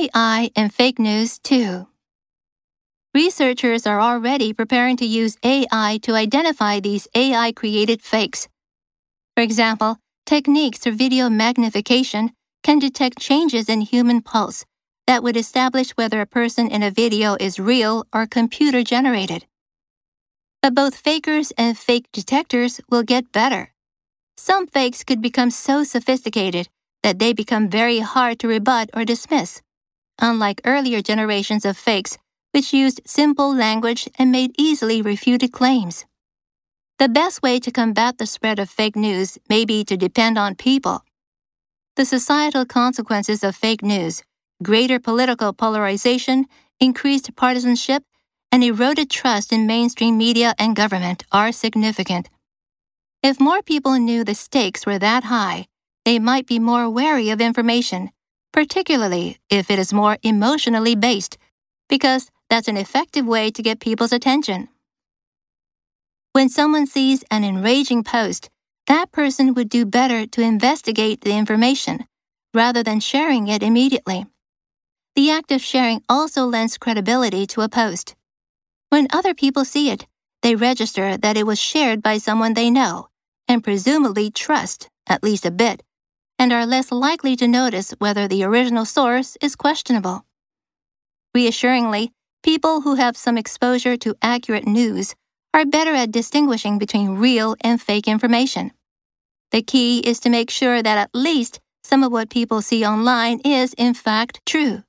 AI and fake news too. Researchers are already preparing to use AI to identify these AI-created fakes. For example, techniques for video magnification can detect changes in human pulse that would establish whether a person in a video is real or computer-generated. But both fakers and fake detectors will get better. Some fakes could become so sophisticated that they become very hard to rebut or dismiss, unlike earlier generations of fakes which used simple language and made easily refuted claims. The best way to combat the spread of fake news may be to depend on people. The societal consequences of fake news, greater political polarization, increased partisanship, and eroded trust in mainstream media and government are significant. If more people knew the stakes were that high, they might be more wary of information, particularly if it is more emotionally based, because that's an effective way to get people's attention. When someone sees an enraging post, that person would do better to investigate the information rather than sharing it immediately. The act of sharing also lends credibility to a post. When other people see it, they register that it was shared by someone they know and presumably trust, at least a bit, and are less likely to notice whether the original source is questionable. Reassuringly, people who have some exposure to accurate news are better at distinguishing between real and fake information. The key is to make sure that at least some of what people see online is in fact true.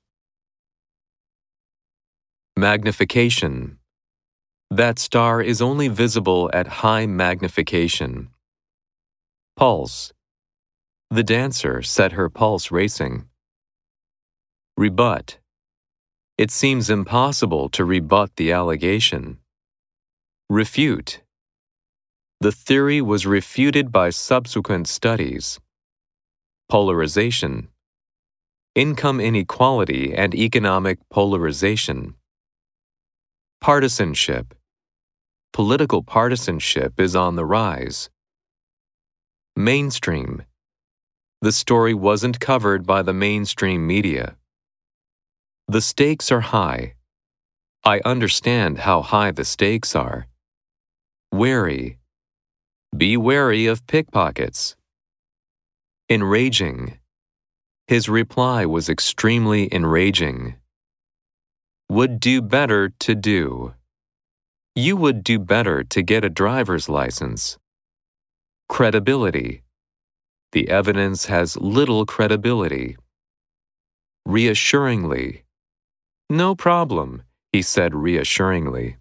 Magnification. That star is only visible at high magnification. Pulse. The dancer set her pulse racing. Rebut. It seems impossible to rebut the allegation. Refute. The theory was refuted by subsequent studies. Polarization. Income inequality and economic polarization. Partisanship. Political partisanship is on the rise. Mainstream. The story wasn't covered by the mainstream media. The stakes are high. I understand how high the stakes are. Wary. Be wary of pickpockets. Enraging. His reply was extremely enraging. Would do better to do. You would do better to get a driver's license. Credibility. The evidence has little credibility. Reassuringly. No problem, he said reassuringly.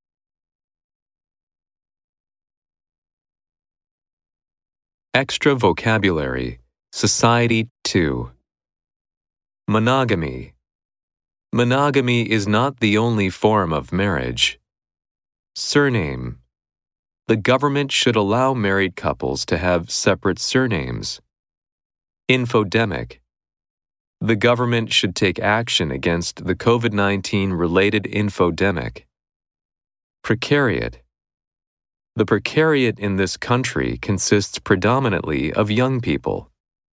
Extra vocabulary. Society 2. Monogamy. Monogamy is not the only form of marriage. Surname. The government should allow married couples to have separate surnames. Infodemic. The government should take action against the COVID-19 related infodemic. Precariat. The precariat in this country consists predominantly of young people.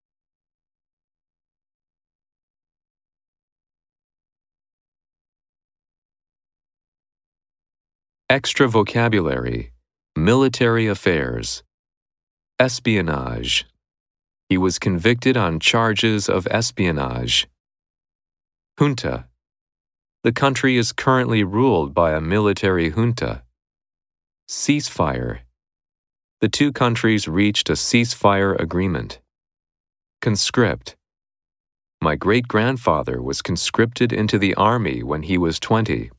Extra vocabulary. Military affairs. Espionage. He was convicted on charges of espionage. Junta. The country is currently ruled by a military junta. Ceasefire. The two countries reached a ceasefire agreement. Conscript. My great-grandfather was conscripted into the army when he was 20.